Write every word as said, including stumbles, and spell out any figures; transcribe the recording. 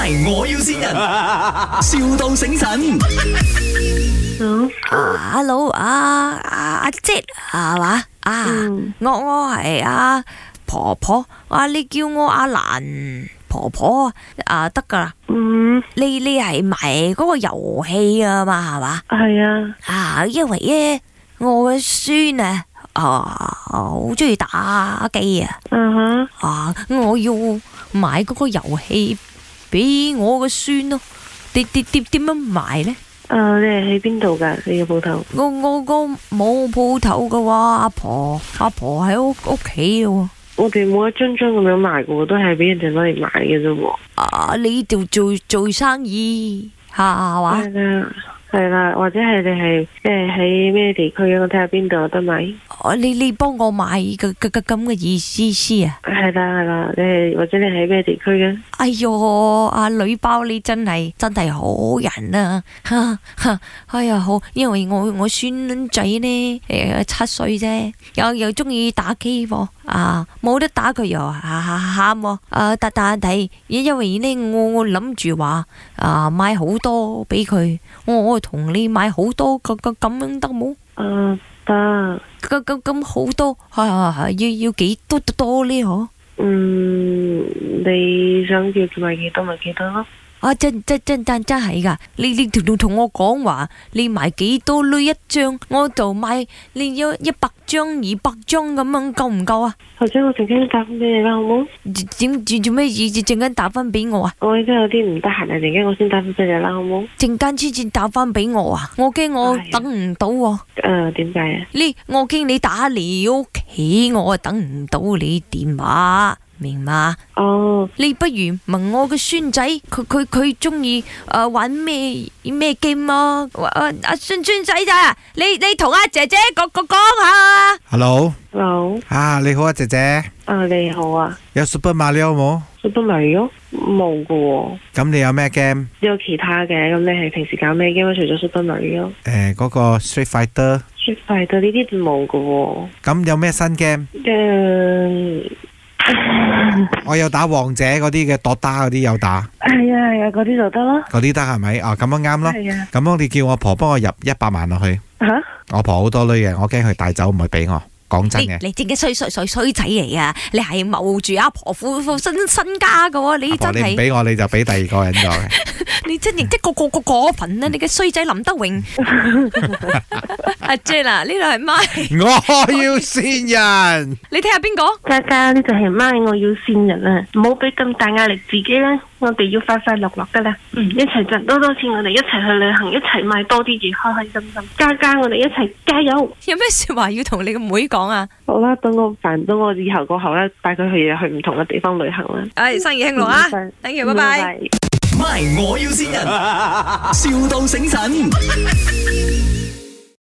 My 我要先人，,笑到醒神。 啊，hello，啊啊阿姐係嘛？啊，我我係阿婆婆，啊你叫我阿蘭婆婆啊，得噶啦。 嗯， 你你係賣嗰個遊戲啊嘛，係嘛？ 係啊。 啊，因為咧我嘅孫啊，啊好中意打機啊。 嗯哼。 啊，我要買嗰個遊戲俾我嘅孫咯。點點點點樣買咧？ 誒、uh, 你係喺邊度噶？你嘅鋪頭？ 我我我冇鋪頭噶喎，阿婆阿婆喺屋屋企嘅。 我哋冇一張張咁樣賣嘅，都係俾人哋攞嚟買嘅啫喎。 啊，你度做做生意係嘛？ 係啦，係啦，或者係你係即係喺咩地區啊？我睇下邊度有得買。 哦，你你幫我買個個個咁嘅意思思啊？ 係啦係啦，你係或者你喺咩地區嘅？ 哎喲，阿女包你真係真係好人啊！哈哈，哎呀好，因為我我孫仔呢誒七歲啫，又又中意打機喎，啊冇得打佢又喊喎，啊但但係因為呢我我諗住話啊買好多俾佢，我我同你買好多個個咁樣得冇？ 啊得。 咁咁咁好多，係係係要要幾多多多呢？嗬？ 嗯，你想叫佢買幾多咪幾多咯？ 啊真真真真真係噶，你你同同我講話，你買幾多呢一張，我就買你要一百張、二百張咁樣夠唔夠啊？ 或者我陣間打翻俾你啦，好冇？ 點做做咩意思？陣間打翻俾我啊？ 我而家有啲唔得閒啊，陣間我先打翻俾你啦，好冇？ 陣間先至打翻俾我啊！我驚我等唔到喎。 誒，點解啊？ 呢我驚你打嚟屋企，我啊等唔到你電話。明嘛？ 哦， 你不如問我個孫仔，佢佢佢中意誒玩咩咩 game 啊？阿阿孫孫仔咋？你你同阿姐姐講講講下。 Hello，Hello， 啊你好啊姐姐。 啊你好啊。 有 Super Mario 冇 ？Super Mario 冇噶喎。 咁你有咩 game？ 有其他嘅，咁你係平時搞咩 game？除咗 Super Mario？ 誒，嗰個 Street Fighter。Street Fighter 呢啲冇噶喎。 咁有咩新 game？ 誒。 我有打王者嗰啲嘅，Dota嗰啲有打。 係啊係啊，嗰啲就得咯。 嗰啲得係咪？哦，咁樣啱咯。 係啊。 咁樣你叫我婆幫我入一百萬落去。 吓？ 我婆好多女嘅，我驚佢帶走唔會俾我。講真嘅。 你正嘅衰衰衰衰仔嚟啊！你係謀住阿婆父父身身家噶喎，你真係。 你唔俾我，你就俾第二個人咗嘅。 你真係即個個個過分啊！你嘅衰仔林德榮。阿 Jen 啊，呢度係咪？ 我要線人。 你睇下邊個？ 嘉嘉呢就係咪我要線人啊！唔好俾咁大壓力自己啦，我哋要快快樂樂噶啦。嗯，一齊賺多多錢，我哋一齊去旅行，一齊買多啲嘢，開開心心。嘉嘉，我哋一齊加油！ 有咩說話要同你個妹講啊？ 好啦，等我煩到我以後過後咧，帶佢去去唔同嘅地方旅行啦。 唉，生意興隆啊！thank you，拜拜。 My 我要先人，笑到醒神。